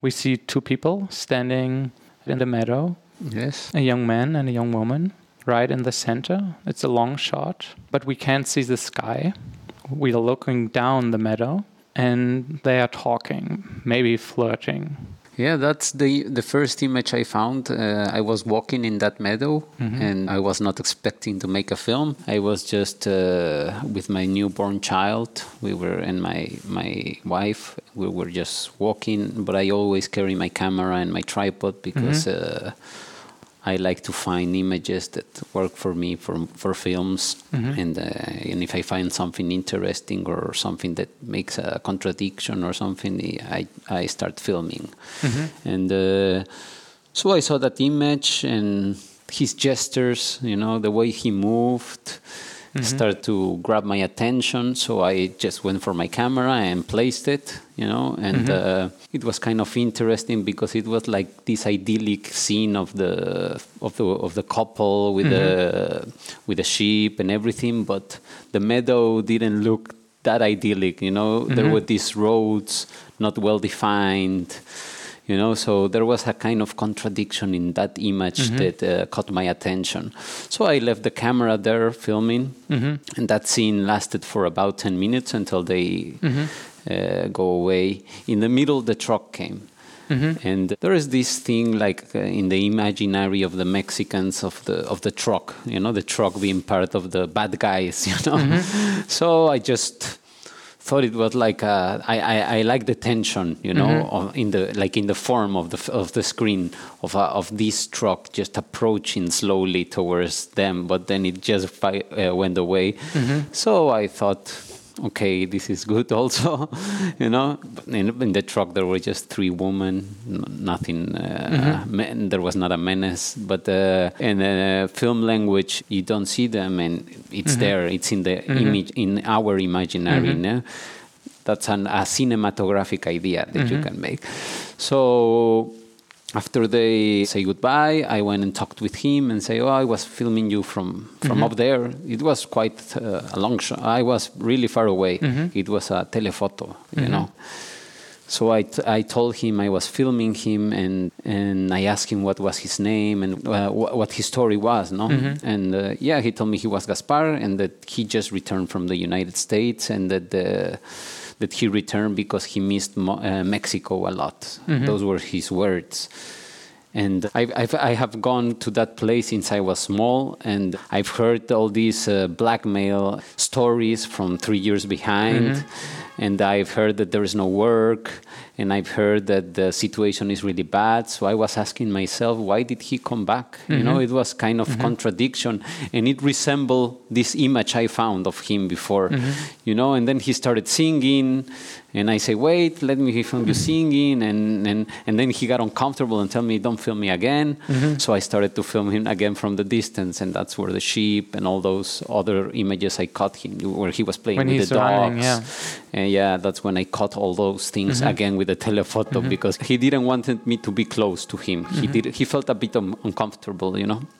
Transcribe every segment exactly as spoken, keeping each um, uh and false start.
We see two people standing in the meadow. Yes. A young man and a young woman, right in the center. It's a long shot, but we can't see the sky. We are looking down the meadow, and they are talking, maybe flirting. Yeah, that's the the first image I found. Uh, I was walking in that meadow, mm-hmm. and I was not expecting to make a film. I was just uh, with my newborn child. We were and my my wife. We were just walking, but I always carry my camera and my tripod because mm-hmm. uh, I like to find images that work for me for for films, mm-hmm. and uh, and if I find something interesting or something that makes a contradiction or something, I I start filming, mm-hmm. and uh, so I saw that image and his gestures, you know, the way he moved. Mm-hmm. Started to grab my attention, so I just went for my camera and placed it, you know, and mm-hmm. uh, it was kind of interesting because it was like this idyllic scene of the of the of the couple with mm-hmm. the with the sheep and everything, but the meadow didn't look that idyllic, you know. Mm-hmm. There were these roads not well defined. You know, so there was a kind of contradiction in that image mm-hmm. that uh, caught my attention. So I left the camera there filming, mm-hmm. and that scene lasted for about ten minutes until they mm-hmm. uh, go away. In the middle, the truck came. Mm-hmm. And there is this thing like uh, in the imaginary of the Mexicans of the of the truck, you know, the truck being part of the bad guys, you know. Mm-hmm. So I just thought it was like a, I, I, I like the tension, you know, mm-hmm. of, in the like in the form of the of the screen of a, of this truck just approaching slowly towards them, but then it just fi- uh, went away. Mm-hmm. So I thought, okay, this is good also, you know. In, in the truck there were just three women, nothing. Uh, mm-hmm. men, there was not a menace, but uh, in uh, film language you don't see them, and it's mm-hmm. there. It's in the mm-hmm. image, in our imaginary. Mm-hmm. No? That's an, a cinematographic idea that mm-hmm. you can make. So after they say goodbye, I went and talked with him and say, oh, I was filming you from, from mm-hmm. up there. It was quite uh, a long shot. I was really far away. Mm-hmm. It was a telephoto, you mm-hmm. know. So I, t- I told him I was filming him, and, and I asked him what was his name and uh, wh- what his story was, no? Mm-hmm. And uh, yeah, he told me he was Gaspar and that he just returned from the United States, and that the... that he returned because he missed Mo- uh, Mexico a lot. Mm-hmm. Those were his words. And I've, I've, I have gone to that place since I was small, and I've heard all these uh, blackmail stories from three years behind. Mm-hmm. And I've heard that there is no work, and I've heard that the situation is really bad. So I was asking myself, why did he come back? Mm-hmm. You know, it was kind of mm-hmm. contradiction, and it resembled this image I found of him before, mm-hmm. you know. And then he started singing, and I say, wait, let me film you singing, and and and then he got uncomfortable and told me, don't film me again. Mm-hmm. So I started to film him again from the distance, and that's where the sheep and all those other images I caught him, where he was playing when with he's the dogs. Running, yeah. And yeah, that's when I caught all those things mm-hmm. again with the telephoto, mm-hmm. because he didn't want me to be close to him. Mm-hmm. He did. He felt a bit um, uncomfortable, you know.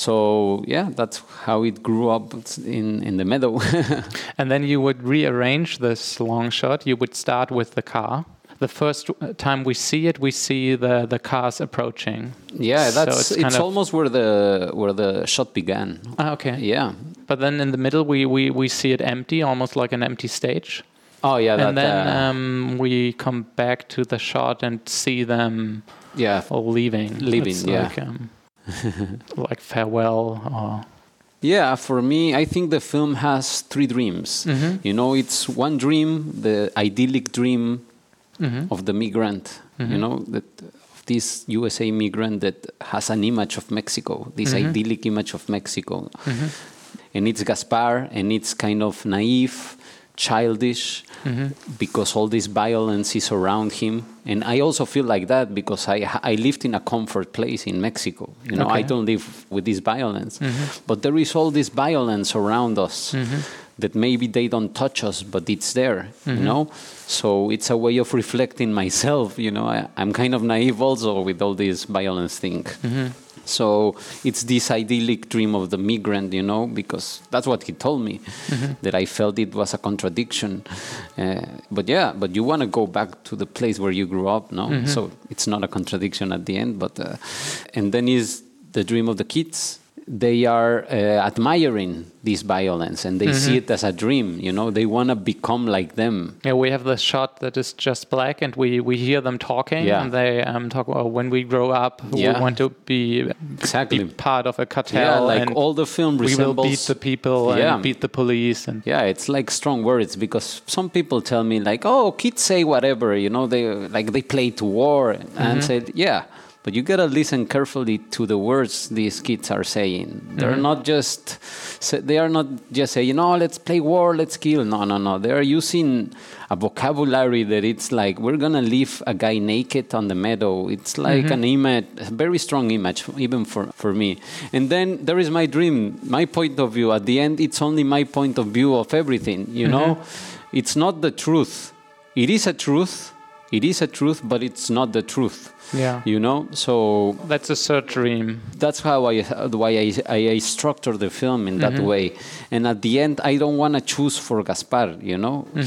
So yeah, that's how it grew up in, in the meadow. And then you would rearrange this long shot. You would start with the car. The first time we see it, we see the, the cars approaching. Yeah, that's so it's, it's almost where the where the shot began. Ah, okay. Yeah. But then in the middle, we, we, we see it empty, almost like an empty stage. Oh yeah. And that, then uh, um, we come back to the shot and see them. Yeah. All leaving. Leaving. It's yeah. Like, um, like farewell or. Yeah, for me, I think the film has three dreams. Mm-hmm. You know, it's one dream, the idyllic dream mm-hmm. of the migrant, mm-hmm. you know, that of this U S A migrant that has an image of Mexico, this mm-hmm. idyllic image of Mexico. Mm-hmm. And it's Gaspar, and it's kind of naive, childish, mm-hmm. because all this violence is around him. And I also feel like that because I I lived in a comfort place in Mexico. You know, okay. I don't live with this violence. Mm-hmm. But there is all this violence around us mm-hmm. that maybe they don't touch us, but it's there, mm-hmm. you know? So it's a way of reflecting myself, you know. I, I'm kind of naive also with all this violence thing. Mm-hmm. So it's this idyllic dream of the migrant, you know, because that's what he told me, mm-hmm. that I felt it was a contradiction. Uh, but yeah, but you want to go back to the place where you grew up, no? Mm-hmm. So it's not a contradiction at the end. But uh, and then is the dream of the kids. They are uh, admiring this violence and they mm-hmm. see it as a dream, you know, they want to become like them. Yeah, we have this shot that is just black and we, we hear them talking yeah. and they um, talk about when we grow up, yeah. we want to be, exactly. be part of a cartel. Yeah, like and all the film resembles... we will beat the people yeah. and beat the police. And yeah, it's like strong words because some people tell me like, oh, kids say whatever, you know, they like they play to war and mm-hmm. said, yeah. But you gotta listen carefully to the words these kids are saying. They're mm-hmm. not just, they are not just saying, you know, let's play war, let's kill. No, no, no. They are using a vocabulary that it's like, we're gonna leave a guy naked on the meadow. It's like mm-hmm. an image, a very strong image, even for, for me. And then there is my dream, my point of view. At the end, it's only my point of view of everything, you mm-hmm. know? It's not the truth. It is a truth. It is a truth, but it's not the truth. Yeah, you know, so that's a third dream. That's how I why I, I, I structure the film in that mm-hmm. way. And at the end, I don't want to choose for Gaspar. You know, mm-hmm.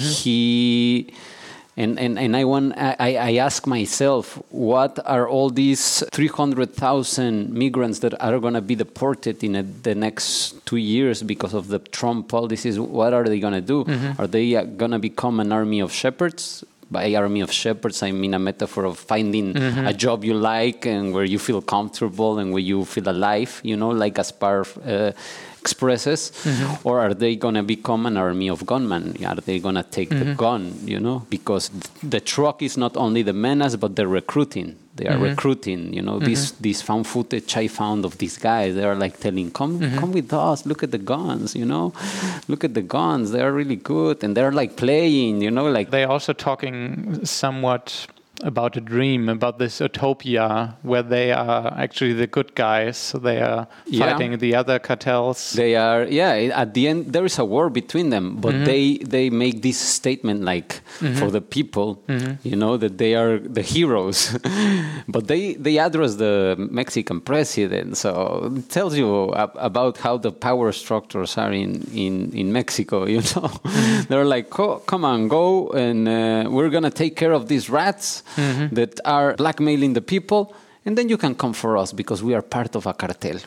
he and and and I want I I ask myself, what are all these three hundred thousand migrants that are going to be deported in a, the next two years because of the Trump policies? What are they going to do? Mm-hmm. Are they going to become an army of shepherds? By army of shepherds, I mean a metaphor of finding mm-hmm. a job you like and where you feel comfortable and where you feel alive, you know, like Gaspar uh, expresses. Mm-hmm. Or are they going to become an army of gunmen? Are they going to take mm-hmm. the gun, you know? Because the truck is not only the menace, but the recruiting. They are mm-hmm. recruiting, you know, mm-hmm. this this found footage I found of these guys. They are like telling, come mm-hmm. come with us, look at the guns, you know, look at the guns. They are really good. And they're like playing, you know, like. They're also talking somewhat about a dream, about this utopia where they are actually the good guys. So they are fighting yeah. the other cartels. They are, yeah, at the end, there is a war between them, but mm-hmm. they, they make this statement like mm-hmm. for the people, mm-hmm. you know, that they are the heroes. But they, they address the Mexican president. So it tells you ab- about how the power structures are in, in, in Mexico, you know. Mm-hmm. They're like, oh, come on, go, and uh, we're going to take care of these rats. Mm-hmm. that are blackmailing the people, and then you can come for us because we are part of a cartel.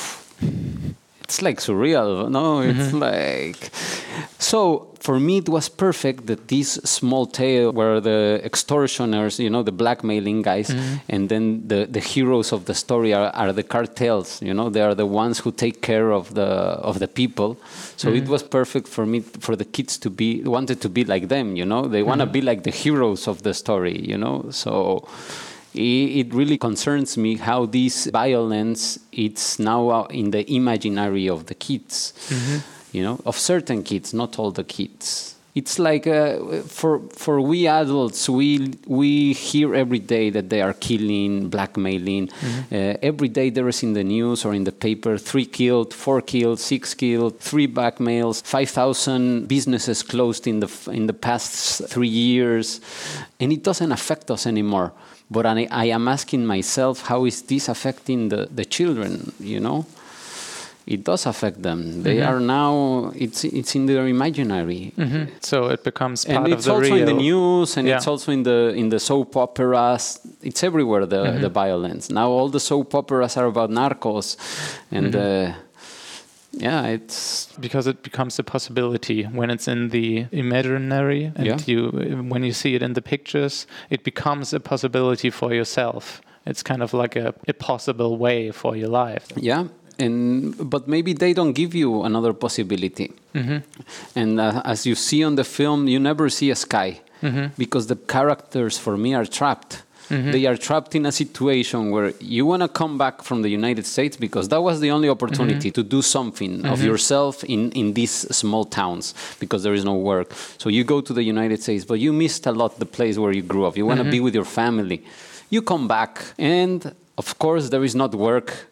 It's like surreal, no? Mm-hmm. It's like... So, for me, it was perfect that this small tale where the extortioners, you know, the blackmailing guys, mm-hmm. and then the, the heroes of the story are, are the cartels, you know, they are the ones who take care of the of the people. So mm-hmm. it was perfect for me, for the kids to be, wanted to be like them, you know, they want to mm-hmm. be like the heroes of the story, you know, so... It really concerns me how this violence, it's now in the imaginary of the kids, mm-hmm. you know, of certain kids, not all the kids. It's like uh, for for we adults, we we hear every day that they are killing, blackmailing. Mm-hmm. Uh, every day there is in the news or in the paper, three killed, four killed, six killed, three blackmails, five thousand businesses closed in the in the past three years, and it doesn't affect us anymore. But I, I am asking myself, how is this affecting the, the children, you know? It does affect them. They mm-hmm. are now, it's it's in their imaginary. Mm-hmm. So it becomes part and of it's the also real. in the news, and yeah. it's also in the in the soap operas. It's everywhere, the, mm-hmm. the violence. Now all the soap operas are about narcos. And mm-hmm. uh, yeah, it's... Because it becomes a possibility when it's in the imaginary, and yeah. you when you see it in the pictures, it becomes a possibility for yourself. It's kind of like a, a possible way for your life. Yeah, and but maybe they don't give you another possibility. Mm-hmm. And uh, as you see on the film, you never see a sky, mm-hmm. because the characters, for me, are trapped. Mm-hmm. They are trapped in a situation where you want to come back from the United States because that was the only opportunity mm-hmm. to do something mm-hmm. of yourself in, in these small towns because there is no work. So you go to the United States, but you missed a lot the place where you grew up. You want to mm-hmm. be with your family. You come back, and of course there is not work.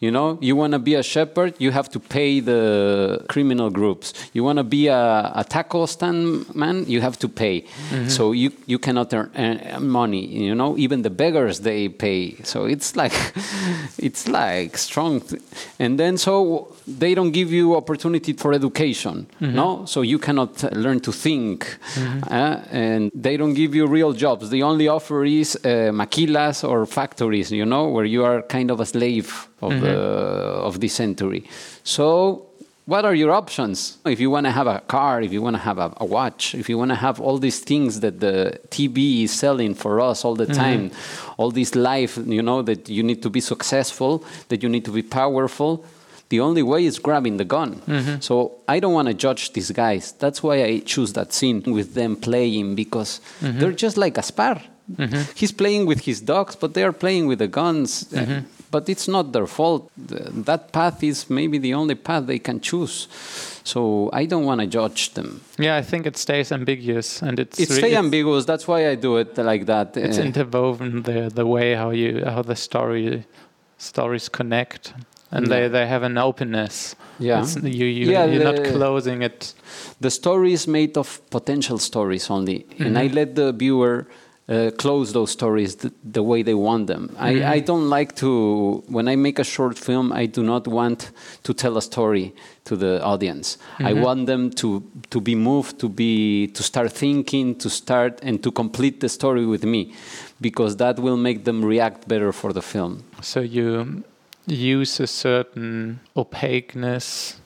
You know, you want to be a shepherd, you have to pay the criminal groups. You want to be a, a taco stand man, you have to pay. Mm-hmm. So you, you cannot earn, earn money. You know, even the beggars, they pay. So it's like, it's like strong. Th- and then so they don't give you opportunity for education. Mm-hmm. No, so you cannot learn to think. Mm-hmm. Uh, and they don't give you real jobs. The only offer is uh, maquilas or factories, you know, where you are kind of a slave of mm-hmm. the of this century. So what are your options? If you want to have a car, if you want to have a, a watch, if you want to have all these things that the T V is selling for us all the time, mm-hmm. all this life, you know, that you need to be successful, that you need to be powerful, the only way is grabbing the gun. Mm-hmm. So I don't want to judge these guys. That's why I choose that scene with them playing, because mm-hmm. they're just like Gaspar. Mm-hmm. He's playing with his dogs, but they are playing with the guns. Mm-hmm. But it's not their fault. That path is maybe the only path they can choose. So I don't want to judge them. Yeah, I think it stays ambiguous, and it's it's really ambiguous. That's why I do it like that. It's uh, interwoven the the way how you how the story stories connect, and yeah. they, they have an openness. Yeah, it's, you you yeah, you're the, not closing it. The story is made of potential stories only, mm-hmm. and I let the viewer Uh, close those stories th- the way they want them. Mm-hmm. I, I don't like to, when I make a short film, I do not want to tell a story to the audience. Mm-hmm. I want them to, to be moved, to be, to start thinking, to start and to complete the story with me, because that will make them react better for the film. So you use a certain opaqueness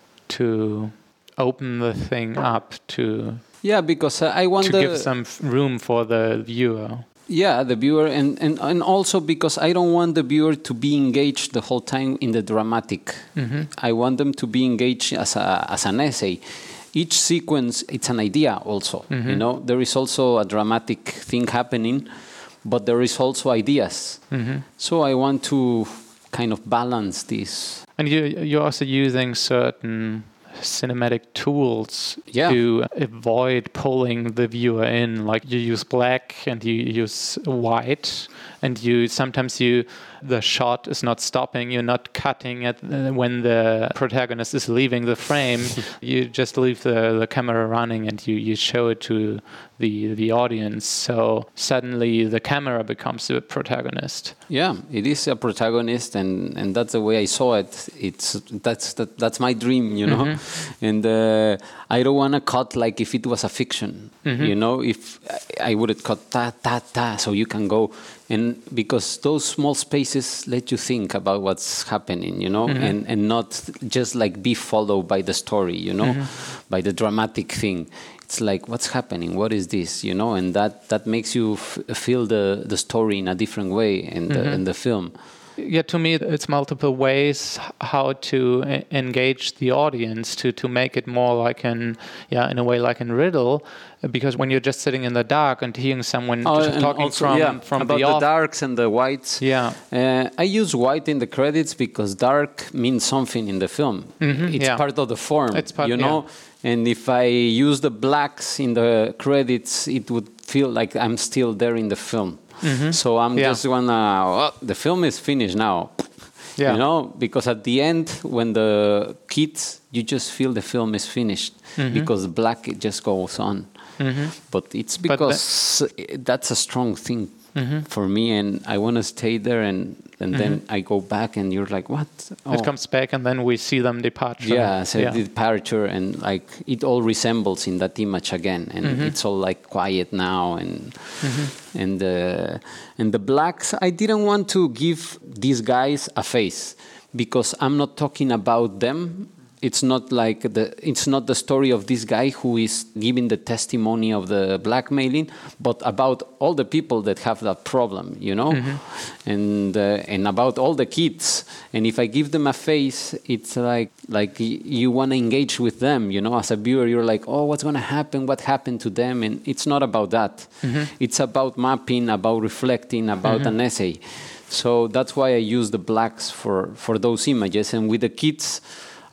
to open the thing up to... Yeah, because uh, I want to the, give some f- room for the viewer. Yeah, the viewer, and, and, and also because I don't want the viewer to be engaged the whole time in the dramatic. Mm-hmm. I want them to be engaged as a as an essay. Each sequence, it's an idea also. Mm-hmm. You know, there is also a dramatic thing happening, but there is also ideas. Mm-hmm. So I want to kind of balance this. And you you're also using certain cinematic tools yeah. to avoid pulling the viewer in. Like you use black and you use white, and you sometimes you the shot is not stopping. You're not cutting it when the protagonist is leaving the frame. You just leave the, the camera running and you, you show it to the the audience. So suddenly the camera becomes the protagonist. Yeah, it is a protagonist, and, and that's the way I saw it. It's that's that, that's my dream, you know. Mm-hmm. And uh, I don't want to cut like if it was a fiction, mm-hmm. you know. If I would have cut ta ta ta, so you can go. And because those small spaces let you think about what's happening, you know, mm-hmm. and, and not just like be followed by the story, you know, mm-hmm. by the dramatic thing. It's like, what's happening? What is this? You know, and that, that makes you f- feel the, the story in a different way in the, mm-hmm. in the film. Yeah, to me, it's multiple ways how to e- engage the audience to, to make it more like an, yeah, in a way like a riddle. Because when you're just sitting in the dark and hearing someone oh, just talking also, from, yeah, from about the, the off- darks and the whites. Yeah, uh, I use white in the credits because dark means something in the film. Mm-hmm, it's yeah. part of the form, it's part, you know. Yeah. And if I use the blacks in the credits, it would feel like I'm still there in the film. Mm-hmm. So I'm yeah. just gonna. Oh, the film is finished now. Yeah. You know, because at the end, when the kids, you just feel the film is finished mm-hmm. because black it just goes on. Mm-hmm. But it's because but that, that's a strong thing mm-hmm. for me, and I want to stay there, and, and mm-hmm. then I go back, and you're like, what? Oh. It comes back, and then we see them departure. Yeah, so yeah. departure, and like it all resembles in that image again, and mm-hmm. it's all like quiet now, and mm-hmm. and uh, and the blacks. I didn't want to give these guys a face because I'm not talking about them. It's not like the it's not the story of this guy who is giving the testimony of the blackmailing, but about all the people that have that problem, you know, mm-hmm. and uh, and about all the kids. And if I give them a face, it's like like you want to engage with them, you know. As a viewer, you're like, oh, what's going to happen? What happened to them? And it's not about that. Mm-hmm. It's about mapping, about reflecting, about mm-hmm. an essay. So that's why I use the blacks for for those images. And with the kids,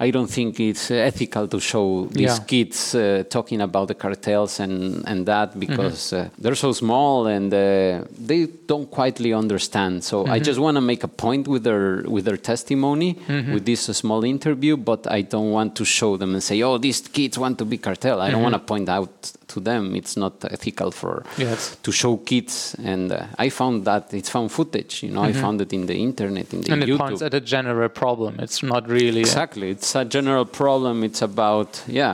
I don't think it's ethical to show these Yeah. kids uh, talking about the cartels and, and that because uh, they're so small and uh, they don't quietly understand. So I just want to make a point with their with their testimony, with this uh, small interview, but I don't want to show them and say, oh, these kids want to be cartel. I don't want to point out to them it's not ethical for Yes. to show kids. And uh, I found that it's found footage. You know, I found it in the internet, in the And it YouTube. points at a general problem. It's not really... Exactly. It's a general problem. It's about, yeah.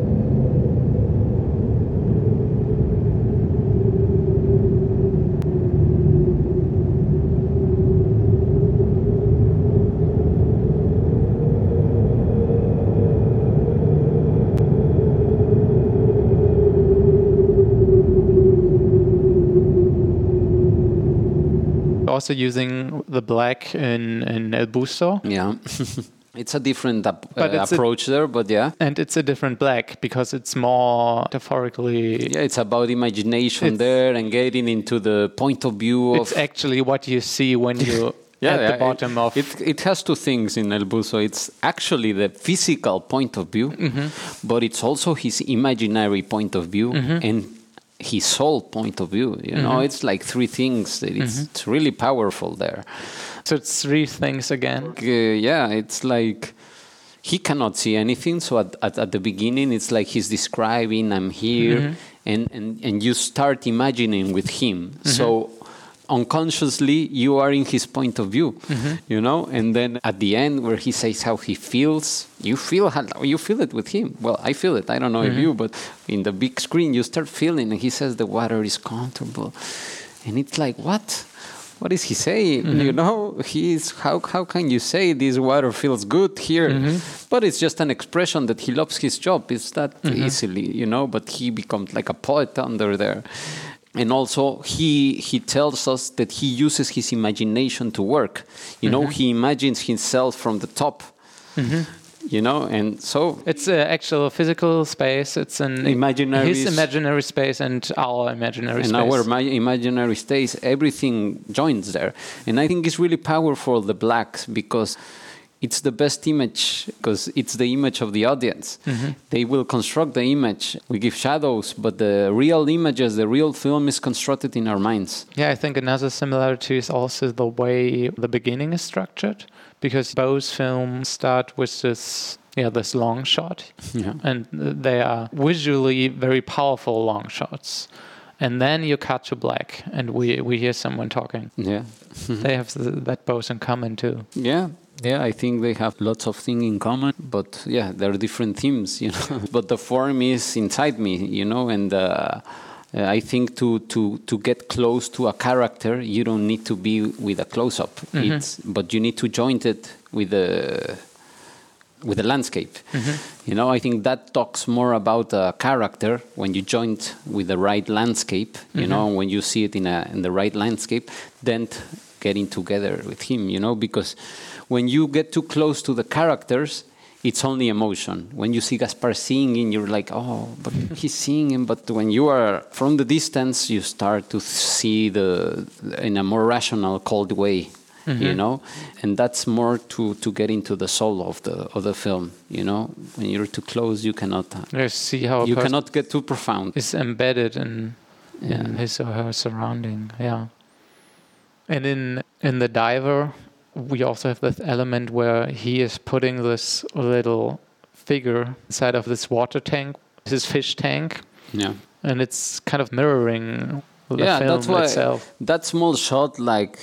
Also using the black in, in El Busto. Yeah. It's a different ap- But uh, it's a- approach there, but yeah. And it's a different black because it's more metaphorically... Yeah, it's about imagination It's- there and getting into the point of view of... It's actually what you see when you Yeah, at yeah, the bottom it, of... it. It has two things in El Buzo. It's actually the physical point of view, but it's also his imaginary point of view and his soul point of view. You know, it's like three things. That it's, it's really powerful there. So it's three things again. Uh, yeah, it's like he cannot see anything. So at, at, at the beginning, it's like he's describing, I'm here, and, and, and you start imagining with him. So unconsciously, you are in his point of view, you know. And then at the end, where he says how he feels, you feel how, you feel it with him. Well, I feel it. I don't know if you, but in the big screen, you start feeling. And he says the water is comfortable, and it's like, what? What is he saying? Mm-hmm. You know, he's how how can you say this water feels good here? Mm-hmm. But it's just an expression that he loves his job. It's that mm-hmm. easily, you know. But he becomes like a poet under there, and also he he tells us that he uses his imagination to work. You mm-hmm. know, he imagines himself from the top. Mm-hmm. You know, and so it's an actual physical space. It's an imaginary his imaginary space and our imaginary and space. our ma- imaginary space. Everything joins there, and I think it's really powerful. The blacks because it's the best image because it's the image of the audience. Mm-hmm. They will construct the image. We give shadows, but the real images, the real film is constructed in our minds. Yeah, I think another similarity is also the way the beginning is structured. Because both films start with this, yeah, this long shot, yeah. and they are visually very powerful long shots. And then you cut to black, and we, we hear someone talking. Yeah, they have th- that both in common too. Yeah, yeah, I think they have lots of things in common, but yeah, they're different themes, you know. But the form is inside me, you know, and. Uh, Uh, I think to, to, to get close to a character, you don't need to be with a close-up. Mm-hmm. It's, but you need to join it with the with the landscape. Mm-hmm. You know, I think that talks more about a character when you join it with the right landscape. You mm-hmm. know, when you see it in a in the right landscape, then t- getting together with him. You know, because when you get too close to the characters, it's only emotion. When you see Gaspar singing, you're like, oh, but he's singing. But when you are from the distance, you start to see the in a more rational, cold way, mm-hmm. you know. And that's more to, to get into the soul of the of the film, you know. When you're too close, you cannot. You see how you cannot get too profound. It's embedded in, yeah. in his or her surrounding. Yeah. And in in The Diver, we also have this element where he is putting this little figure inside of this water tank, his fish tank. Yeah. And it's kind of mirroring the yeah, film that's why itself. That small shot, like,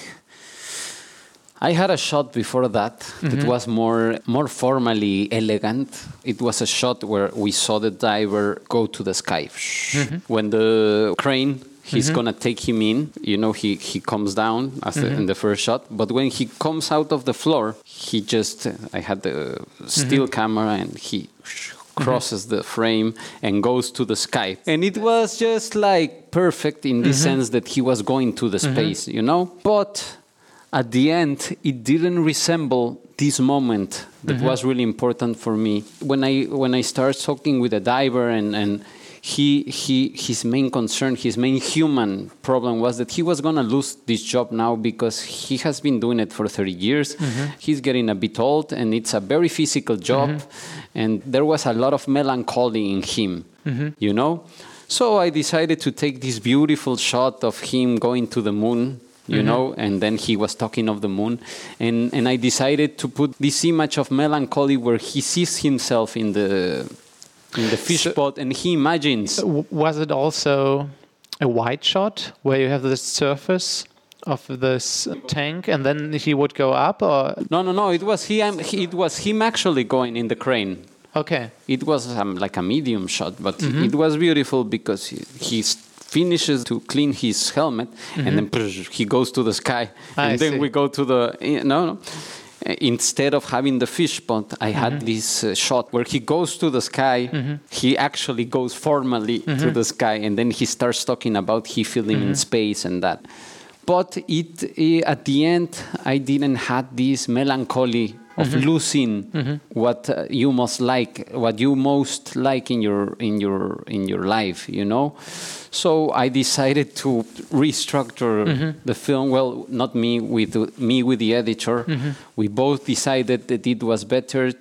I had a shot before that mm-hmm. that was more more formally elegant. It was a shot where we saw the diver go to the sky. Mm-hmm. When the crane... He's mm-hmm. gonna take him in. You know, he, he comes down as mm-hmm. the, in the first shot. But when he comes out of the floor, he just... Uh, I had the still mm-hmm. camera, and he crosses mm-hmm. the frame and goes to the sky. And it was just like perfect in the mm-hmm. sense that he was going to the space, mm-hmm. you know. But at the end, it didn't resemble this moment that mm-hmm. was really important for me. When I when I started talking with a diver and and. he he his main concern, his main human problem was that he was gonna lose this job now because he has been doing it for thirty years. Mm-hmm. He's getting a bit old, and it's a very physical job, mm-hmm. and there was a lot of melancholy in him, mm-hmm. you know. So I decided to take this beautiful shot of him going to the moon, you mm-hmm. know, and then he was talking of the moon. And, and I decided to put this image of melancholy where he sees himself in the in the fish so, pot and he imagines. Was it also a wide shot where you have the surface of this tank and then he would go up? Or No, no, no. It was, he, it was him actually going in the crane. Okay. It was um, like a medium shot, but mm-hmm. it was beautiful because he, he finishes to clean his helmet, mm-hmm. and then he goes to the sky, I and then see. we go to the no, no. Instead of having the fish pot, I mm-hmm. had this uh, shot where he goes to the sky. Mm-hmm. He actually goes formally mm-hmm. to the sky, and then he starts talking about he feeling mm-hmm. in space and that. But it, it at the end, I didn't have this melancholy of mm-hmm. losing mm-hmm. what uh, you most like, what you most like in your in your in your life, you know. So I decided to restructure mm-hmm. the film. Well, not me with me with the editor. Mm-hmm. We both decided that it was better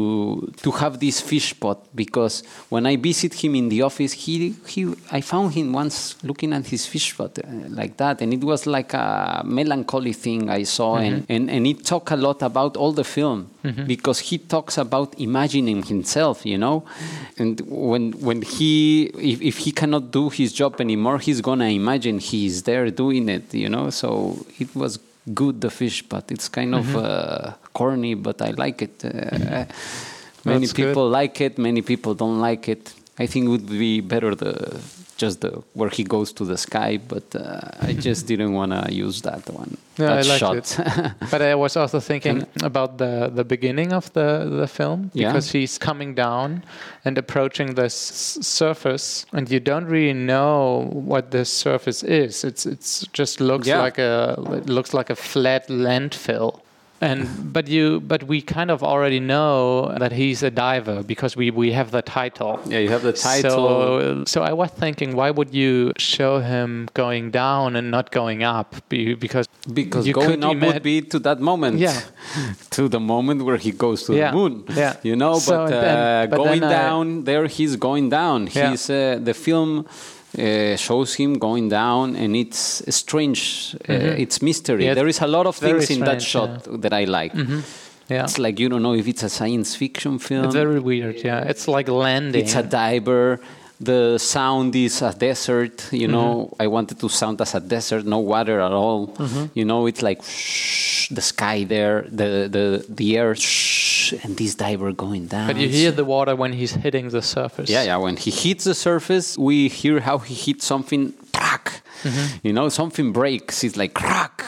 to to have this fish pot because when I visit him in the office, he he I found him once looking at his fish pot uh, like that, and it was like a melancholy thing I saw, mm-hmm. and, and and it talked a lot about all the film. Mm-hmm. Because he talks about imagining himself, you know, and when when he if, if he cannot do his job anymore, he's gonna imagine he's there doing it, you know. So it was good, the fish pot. It's kind mm-hmm. of uh, corny, but I like it. Uh, many That's people good. like it. Many people don't like it. I think it would be better the just the where he goes to the sky, but uh, I just didn't want to use that one. No, that I liked shot. it. But I was also thinking about the, the beginning of the, the film because yeah. he's coming down and approaching this surface, and you don't really know what this surface is. It's it's just looks yeah. like a it looks like a flat landfill. And but you but we kind of already know that he's a diver because we, we have the title. Yeah, you have the title. So, so I was thinking, why would you show him going down and not going up? Because because you going up ima- would be to that moment. Yeah. To the moment where he goes to yeah. the moon. Yeah. You know, so but, uh, then, but going down I, there, he's going down. Yeah. He's uh, the film. Uh, shows him going down, and it's strange. Uh, mm-hmm. It's mystery. Yeah, there is a lot of things in strange, that shot yeah. that I like. Mm-hmm. Yeah. It's like you don't know if it's a science fiction film. It's very weird. Yeah, it's like landing. It's a diver. The sound is a desert. You know, mm-hmm. I wanted to sound as a desert, no water at all. Mm-hmm. You know, it's like shh, the sky there, the the the air. Shh, and this diver going down. But you hear the water when he's hitting the surface. Yeah, yeah. When he hits the surface, we hear how he hits something. Crack. Mm-hmm. You know, something breaks. It's like crack.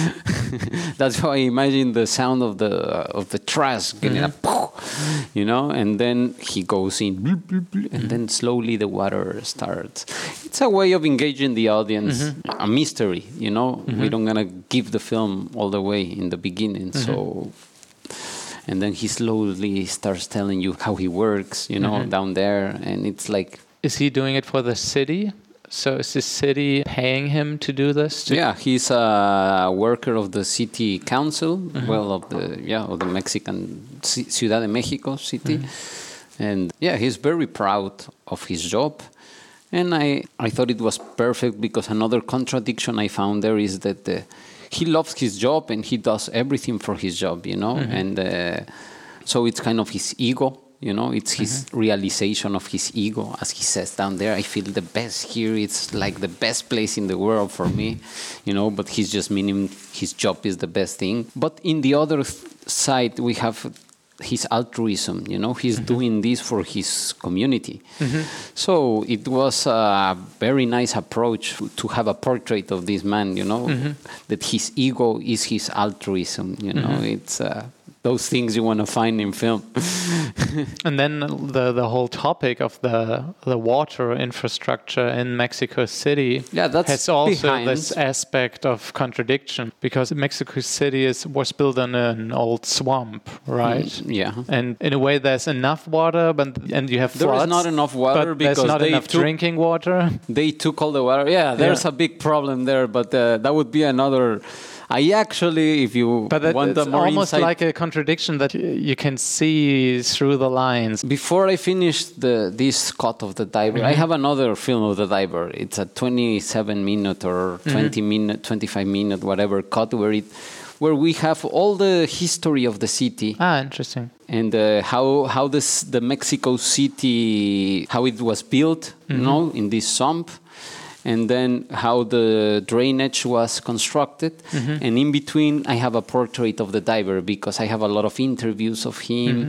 That's how I imagine the sound of the uh, of the trash getting mm-hmm. a, you know, and then he goes in, bloop, bloop, bloop, and mm-hmm. then slowly the water starts. It's a way of engaging the audience, mm-hmm. a mystery. You know, mm-hmm. we don't gonna give the film all the way in the beginning, mm-hmm. so. And then he slowly starts telling you how he works, you know, mm-hmm. down there. And it's like... Is he doing it for the city? So is the city paying him to do this? To yeah, he's a worker of the city council, mm-hmm. well, of the yeah of the Mexican C- Ciudad de Mexico city. Mm-hmm. And yeah, he's very proud of his job. And I, I thought it was perfect because another contradiction I found there is that... the he loves his job and he does everything for his job, you know, mm-hmm. and uh, so it's kind of his ego, you know, it's his mm-hmm. realization of his ego. As he says down there, I feel the best here. It's like the best place in the world for me, you know, but he's just meaning his job is the best thing. But in the other th- side, we have his altruism, you know, he's mm-hmm. doing this for his community. Mm-hmm. So it was a very nice approach to have a portrait of this man, you know, mm-hmm. that his ego is his altruism, you know, mm-hmm. it's uh, those things you want to find in film. And then the the whole topic of the the water infrastructure in Mexico City Yeah, that's has also behind. this aspect of contradiction, because Mexico City is was built on an old swamp, right? Yeah. And in a way, there's enough water, but and you have There is floods, not enough water but because there's not they enough took- drinking water. They took all the water. Yeah, there's Yeah. a big problem there, but uh, that would be another. I actually, if you But it, want it's a more almost insight, like a contradiction that y- you can see through the lines. before I finish the this cut of the diver, I have another film of the diver. It's a twenty-seven minute or twenty minute, twenty-five minute, whatever cut where it, where we have all the history of the city. Ah, interesting. And uh, how how this the Mexico City, how it was built, you know, in this swamp, and then how the drainage was constructed. And in between, I have a portrait of the diver because I have a lot of interviews of him.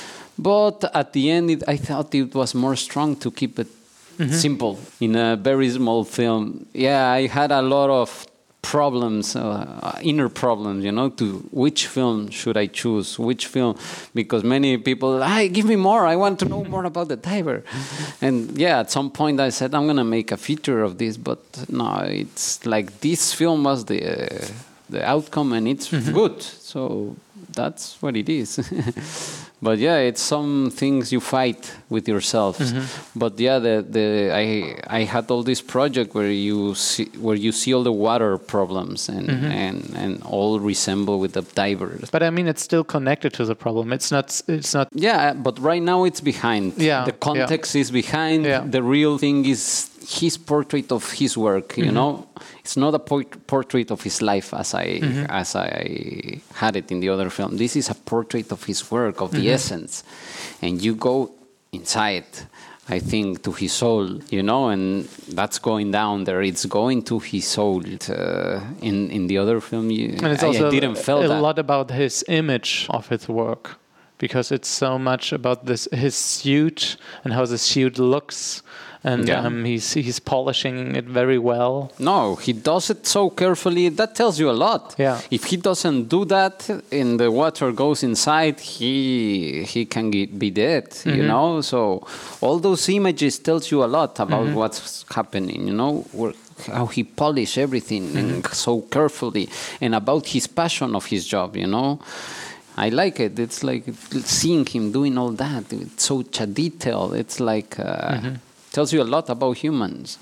But at the end, it, I thought it was more strong to keep it simple in a very small film. Yeah, I had a lot of problems, uh, inner problems, you know, to which film should I choose, which film, because many people, hey, give me more, I want to know more about the diver. And yeah, at some point I said, I'm going to make a feature of this, but no, it's like this film was the, uh, the outcome and it's good. So that's what it is. But yeah, it's some things you fight with yourself. But yeah, the the I I had all this project where you see where you see all the water problems and and and all resemble with the divers. But I mean, it's still connected to the problem. It's not. It's not. Yeah, but right now it's behind. Yeah, the context is behind. Yeah. The real thing is his portrait of his work. You know, it's not a por- portrait of his life as I as I had it in the other film. This is a portrait of his work, of the essence, and you go inside. I think to his soul, you know, and that's going down there. It's going to his soul. Uh, in in the other film, you, And it's I, also I didn't feel a that. lot about his image of his work, because it's so much about this his suit and how the suit looks, and Yeah. um, he's he's polishing it very well. No, he does it so carefully. That tells you a lot. Yeah. If he doesn't do that and the water goes inside, he he can get, be dead, you know? So all those images tells you a lot about what's happening, you know? Where, how he polished everything and so carefully, and about his passion of his job, you know? I like it. It's like seeing him doing all that. It's such a detail. It's like... Uh, tells you a lot about humans.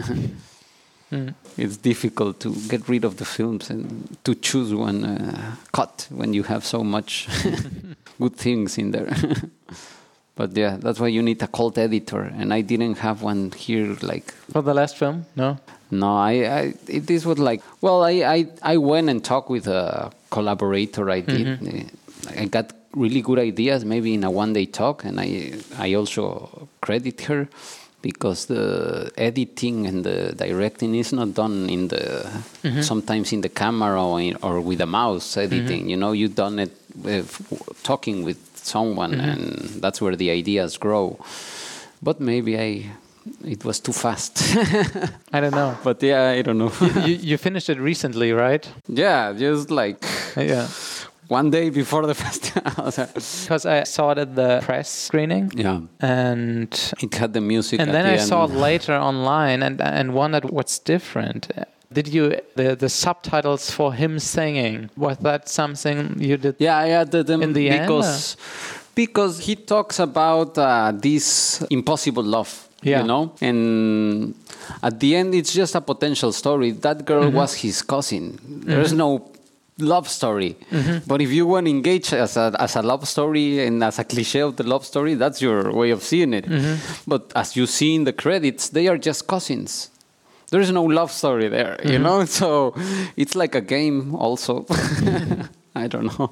mm. It's difficult to get rid of the films and to choose one uh, cut when you have so much good things in there. But yeah, that's why you need a cult editor, and I didn't have one here. Like For the last film, no. no, I, I it, this was like well, I, I I went and talked with a collaborator. I did. Mm-hmm. I got really good ideas, maybe in a one-day talk, and I I also credit her. Because the editing and the directing is not done in the mm-hmm. sometimes in the camera or, in, or with a mouse editing. Mm-hmm. You know, you've done it with, talking with someone, mm-hmm. and that's where the ideas grow. But maybe I it was too fast. I don't know. But yeah, I don't know. you, you finished it recently, right? Yeah, just like yeah. One day before the festival. Because I saw it at the press screening. Yeah. And it had the music. And at then the I end. saw it later online and and wondered what's different. Did you the the subtitles for him singing? Was that something you did? Yeah, I added them in the because end, because he talks about uh, this impossible love. Yeah. You know, and at the end it's just a potential story. That girl mm-hmm. was his cousin. There's mm-hmm. no love story. Mm-hmm. But if you want to engage as a, as a love story and as a cliche of the love story, that's your way of seeing it. Mm-hmm. But as you see in the credits, they are just cousins. There is no love story there, mm-hmm. you know? So it's like a game also. I don't know.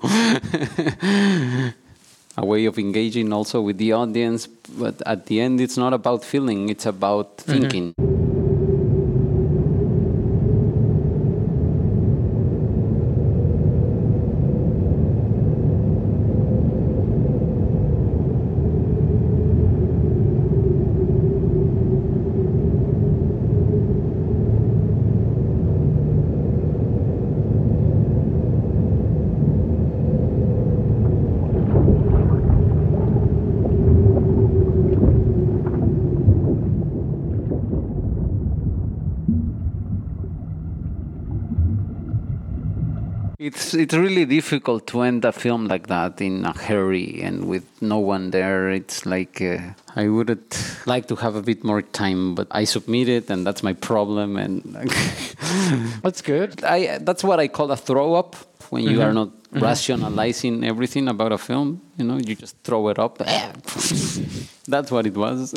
A way of engaging also with the audience. But at the end, it's not about feeling, it's about mm-hmm. thinking. it's it's really difficult to end a film like that in a hurry and with no one there. It's like uh, I would like to have a bit more time, but I submitted, and that's my problem. And that's good. I that's what I call a throw up when you mm-hmm. are not mm-hmm. rationalizing everything about a film. You know, you just throw it up. That's what it was.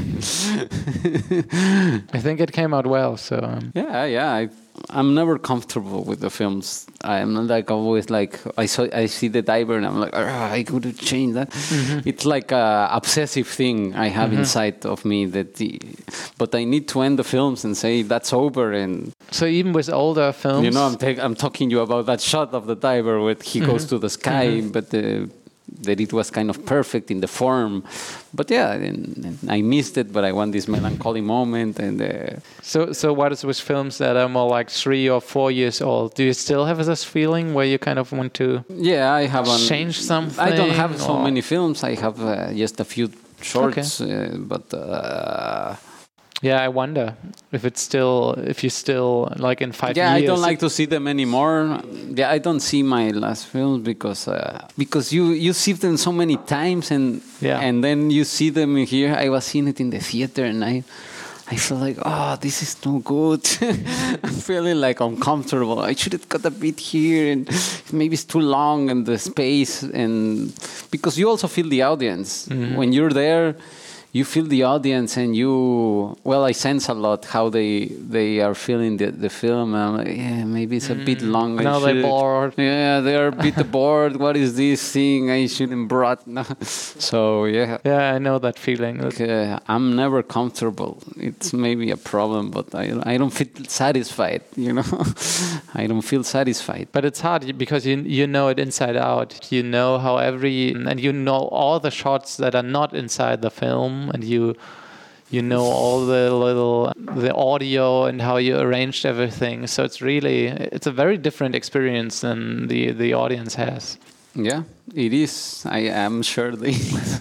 I think it came out well. So um. yeah, yeah. I, I'm never comfortable with the films. I'm not like always like I saw I see the diver and I'm like I could have changed that. Mm-hmm. It's like a obsessive thing I have mm-hmm. inside of me that, the, but I need to end the films and say that's over. And so even with older films, you know, I'm ta- I'm talking you about that shot of the diver where he mm-hmm. goes to the sky, mm-hmm. but the. That it was kind of perfect in the form, but yeah, and, and I missed it. But I want this melancholy moment, and uh, so so what is with films that are more like three or four years old? Do you still have this feeling where you kind of want to? Yeah, I have change something. I don't have so or? many films. I have uh, just a few shorts, okay. uh, but. Uh, Yeah, I wonder if it's still, if you still, like in five yeah, years. Yeah, I don't like to see them anymore. Yeah, I don't see my last films because uh, because you, you see them so many times and yeah. and then you see them here. I was seeing it in the theater and I I feel like, oh, this is no good. I'm feeling like uncomfortable. I should have got a bit here and maybe it's too long and the space. And because you also feel the audience. Mm-hmm. When you're there, you feel the audience and you, well, I sense a lot how they they are feeling the, the film. I'm like, yeah, maybe it's a mm. bit long. Now they're bored. Yeah, they're a bit bored. What is this thing? I shouldn't brought. No. So, yeah. Yeah, I know that feeling. Like, uh, I'm never comfortable. It's maybe a problem, but I, I don't feel satisfied, you know. I don't feel satisfied. But it's hard because you you know it inside out. You know how every, and you know all the shots that are not inside the film. And you you know all the little the audio and how you arranged everything, so it's really it's a very different experience than the the audience has. Yeah, it is. I am sure they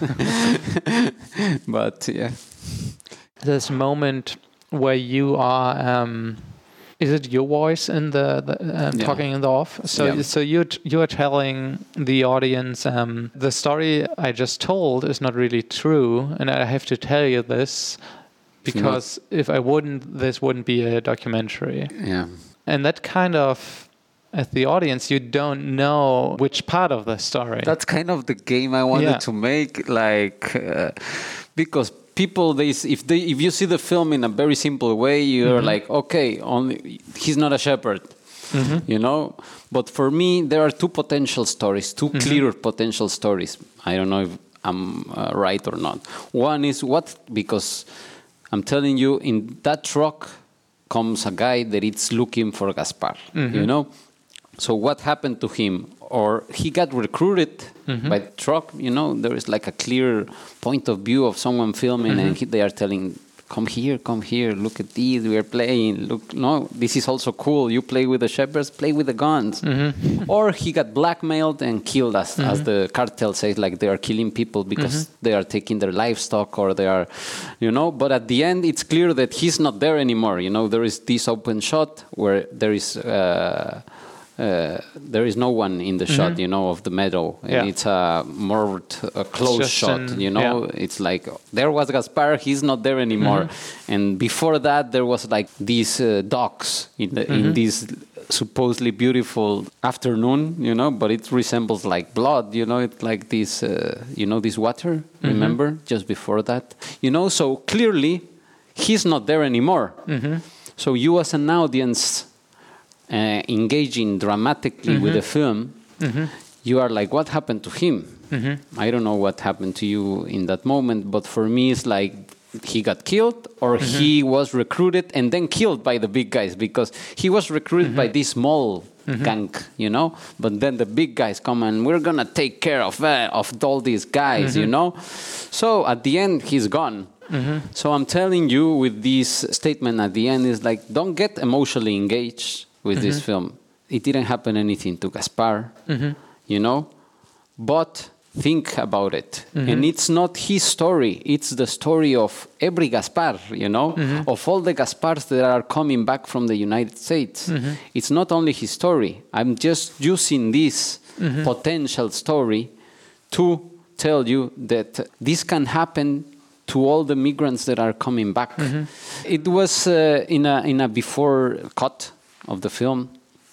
but yeah, this moment where you are um is it your voice in the, the um, yeah. talking in the off? So, yeah. so you you are telling the audience um, the story I just told is not really true, and I have to tell you this because if I wouldn't, this wouldn't be a documentary. Yeah, and that kind of, as the audience, you don't know which part of the story. That's kind of the game I wanted yeah. to make, like uh, because. People, they if they if you see the film in a very simple way, you're mm-hmm. like, okay, only he's not a shepherd, mm-hmm. you know. But for me, there are two potential stories, two mm-hmm. clear potential stories. I don't know if I'm uh, right or not. One is what because I'm telling you, in that truck comes a guy that is looking for Gaspar, mm-hmm. you know. So what happened to him? Or he got recruited mm-hmm. by the truck, you know, there is like a clear point of view of someone filming mm-hmm. and he, they are telling, come here, come here, look at these, we are playing, look, no, this is also cool, you play with the shepherds, play with the guns. Mm-hmm. Or he got blackmailed and killed, as, mm-hmm. as the cartel says, like they are killing people because mm-hmm. they are taking their livestock or they are, you know, but at the end it's clear that he's not there anymore, you know, there is this open shot where there is... Uh, Uh, there is no one in the mm-hmm. shot, you know, of the meadow. And yeah. it's a more t- a close shot, an, you know. Yeah. It's like, there was Gaspar, he's not there anymore. Mm-hmm. And before that, there was like these uh, docks in, the, mm-hmm. in this supposedly beautiful afternoon, you know, but it resembles like blood, you know, it's like this, uh, you know, this water, mm-hmm. remember, just before that. You know, so clearly, he's not there anymore. Mm-hmm. So you as an audience... Uh, engaging dramatically mm-hmm. with the film, mm-hmm. you are like, what happened to him? Mm-hmm. I don't know what happened to you in that moment, but for me it's like he got killed or mm-hmm. he was recruited and then killed by the big guys because he was recruited mm-hmm. by this small mm-hmm. gang, you know, but then the big guys come and we're gonna take care of uh, of all these guys, mm-hmm. you know. So at the end he's gone. Mm-hmm. So I'm telling you with this statement at the end is like, don't get emotionally engaged with mm-hmm. this film. It didn't happen anything to Gaspar, mm-hmm. you know, but think about it. Mm-hmm. And it's not his story. It's the story of every Gaspar, you know, mm-hmm. of all the Gaspars that are coming back from the United States. Mm-hmm. It's not only his story. I'm just using this mm-hmm. potential story to tell you that this can happen to all the migrants that are coming back. Mm-hmm. It was uh, in a in a before cut of the film.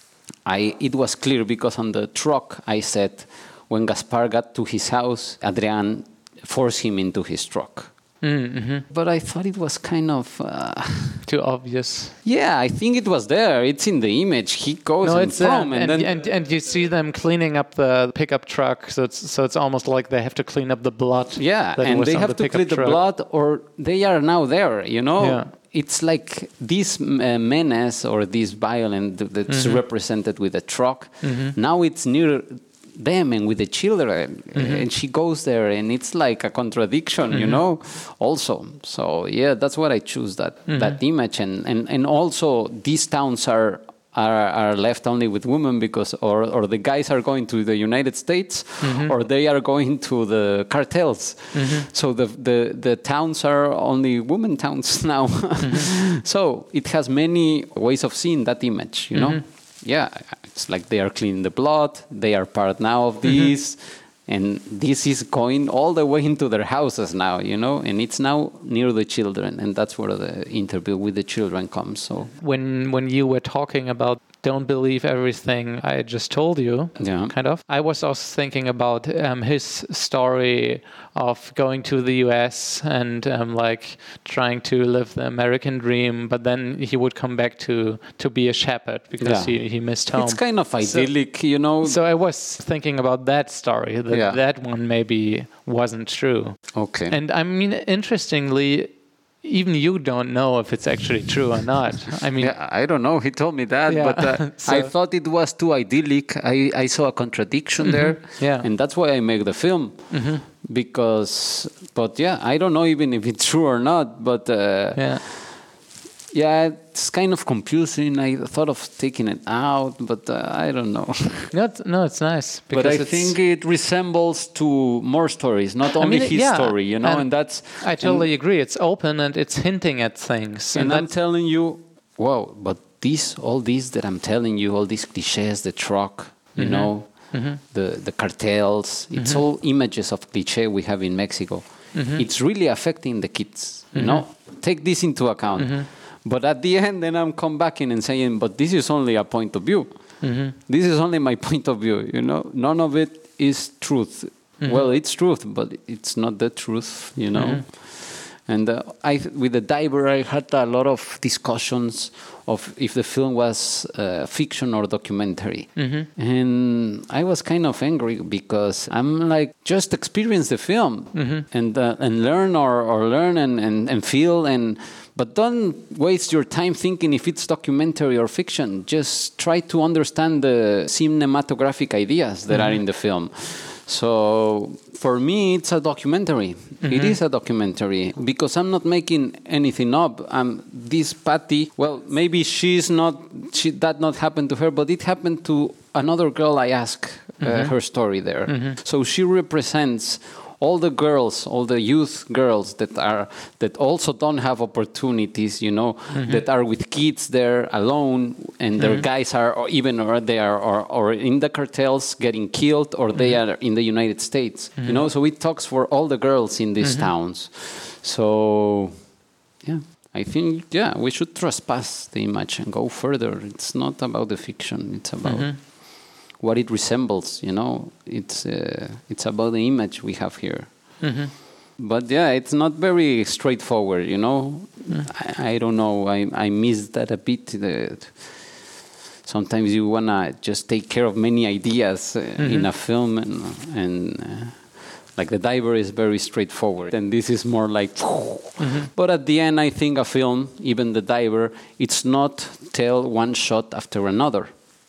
I it was clear because on the truck I said, when Gaspar got to his house, Adrián forced him into his truck. Mm-hmm. But I thought it was kind of... Uh, too obvious. Yeah, I think it was there. It's in the image. He goes no, and it's from, and, and, and, then... And, and you see them cleaning up the pickup truck, so it's so it's almost like they have to clean up the blood. Yeah, and they have the to clean the blood, or they are now there, you know? Yeah. It's like this uh, menace or this violence that's mm-hmm. represented with a truck. Mm-hmm. Now it's near them and with the children, mm-hmm. and she goes there, and it's like a contradiction, mm-hmm. you know, also. So yeah, that's what I choose, that mm-hmm. that image. And, and and also these towns are are are left only with women because or or the guys are going to the United States, mm-hmm. or they are going to the cartels. Mm-hmm. So the the the towns are only women towns now. Mm-hmm. So it has many ways of seeing that image, you know. Mm-hmm. Yeah, it's like they are cleaning the blood, they are part now of this, mm-hmm. and this is going all the way into their houses now, you know, and it's now near the children, and that's where the interview with the children comes. So when when you were talking about don't believe everything I just told you, yeah. kind of, I was also thinking about um, his story of going to the U S and um, like trying to live the American dream, but then he would come back to to be a shepherd because yeah. he, he missed home. It's kind of idyllic, so, you know. So I was thinking about that story, that yeah. that one maybe wasn't true. Okay. And I mean, interestingly, even you don't know if it's actually true or not. I mean, yeah, I don't know. He told me that, yeah. but uh, so, I thought it was too idyllic. I, I saw a contradiction mm-hmm. there, yeah. and that's why I make the film. Mm-hmm. Because, but yeah, I don't know even if it's true or not. But uh, yeah. Yeah, it's kind of confusing. I thought of taking it out, but uh, I don't know. No, it's, no, it's nice. But I think it resembles to more stories, not only I mean, his yeah, story, you know, and, and that's... I totally and, agree. It's open and it's hinting at things. And, and I'm telling you, wow, but this, all these that I'm telling you, all these cliches, the truck, you mm-hmm. know, mm-hmm. the, the cartels, it's mm-hmm. all images of cliche we have in Mexico. Mm-hmm. It's really affecting the kids, you mm-hmm. know. Take this into account. Mm-hmm. But at the end, then I'm come back in and saying, but this is only a point of view. Mm-hmm. This is only my point of view, you know. None of it is truth. Mm-hmm. Well, it's truth, but it's not the truth, you know. Mm-hmm. And uh, I, with the diver, I had a lot of discussions of if the film was uh, fiction or documentary. Mm-hmm. And I was kind of angry because I'm like, just experience the film mm-hmm. and uh, and learn or, or learn and, and, and feel and... But don't waste your time thinking if it's documentary or fiction. Just try to understand the cinematographic ideas that mm-hmm. are in the film. So for me, it's a documentary. Mm-hmm. It is a documentary because I'm not making anything up. Um, this Patty, well, maybe she's not, she, that not happened to her, but it happened to another girl I asked uh, mm-hmm. her story there. Mm-hmm. So she represents all the girls, all the youth girls that are that also don't have opportunities, you know, mm-hmm. that are with kids there alone, and their mm-hmm. guys are or even or they are or, or in the cartels getting killed, or mm-hmm. they are in the United States, mm-hmm. you know. So it talks for all the girls in these mm-hmm. towns. So, yeah, I think yeah we should trespass the image and go further. It's not about the fiction; it's about. Mm-hmm. what it resembles, you know, it's uh, it's about the image we have here. Mm-hmm. But yeah, it's not very straightforward, you know. Mm. I, I don't know. I I miss that a bit. The, sometimes you wanna just take care of many ideas uh, mm-hmm. in a film, and and uh, like The Diver is very straightforward, and this is more like. Mm-hmm. But at the end, I think a film, even The Diver, it's not tell one shot after another.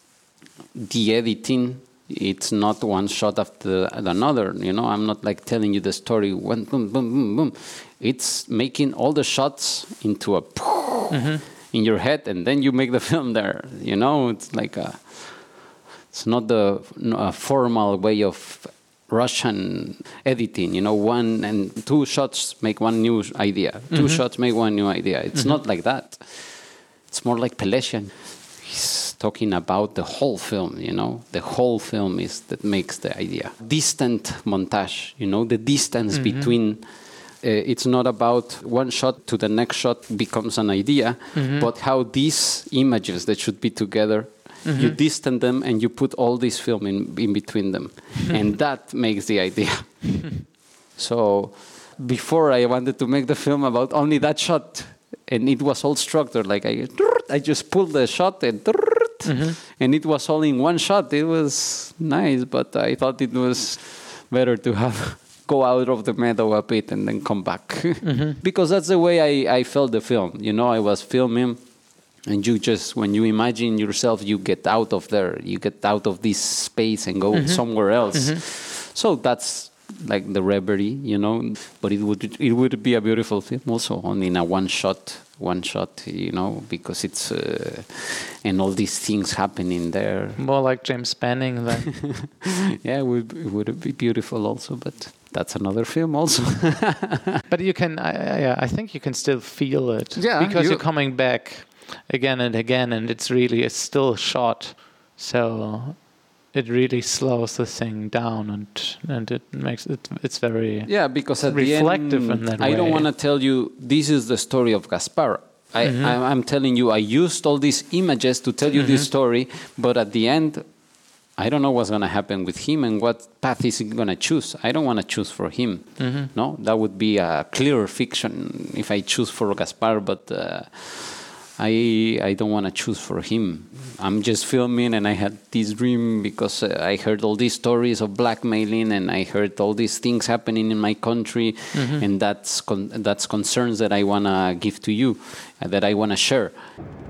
The editing, it's not one shot after another, you know. I'm not like telling you the story one boom boom boom boom. It's making all the shots into a mm-hmm. in your head, and then you make the film there, you know. It's like a, it's not the a formal way of Russian editing, you know, one and two shots make one new idea, two mm-hmm. shots make one new idea. It's mm-hmm. not like that. It's more like Pelesian. He's talking about the whole film, you know, the whole film is that makes the idea. Distant montage, you know, the distance mm-hmm. between, uh, it's not about one shot to the next shot becomes an idea, mm-hmm. but how these images that should be together, mm-hmm. you distance them and you put all this film in, in between them. And that makes the idea. So before I wanted to make the film about only that shot, and it was all structured, like I, I just pulled the shot and, mm-hmm. and it was all in one shot. It was nice, but I thought it was better to have go out of the meadow a bit and then come back. Mm-hmm. Because that's the way I, I felt the film. You know, I was filming, and you just, when you imagine yourself, you get out of there. You get out of this space and go mm-hmm. somewhere else. Mm-hmm. So that's like the reverie, you know. But it would it would be a beautiful film also, only in a one shot, one shot, you know, because it's uh, and all these things happening there. More like James Spanning then. Yeah, it would, it would be beautiful also, but that's another film also. But you can, I, I, I think you can still feel it. Yeah, because you, you're coming back again and again, and it's really a still shot. So it really slows the thing down, and and it makes it it's very yeah because at reflective the end, in that I way. don't want to tell you this is the story of Gaspar. I, mm-hmm. I I'm telling you I used all these images to tell you mm-hmm. this story, but at the end, I don't know what's going to happen with him and what path is he going to choose. I don't want to choose for him. Mm-hmm. No, that would be a clear fiction if I choose for Gaspar, but uh, I I don't want to choose for him. I'm just filming, and I had this dream because uh, I heard all these stories of blackmailing, and I heard all these things happening in my country, mm-hmm. and that's con- that's concerns that I want to give to you, uh, that I want to share.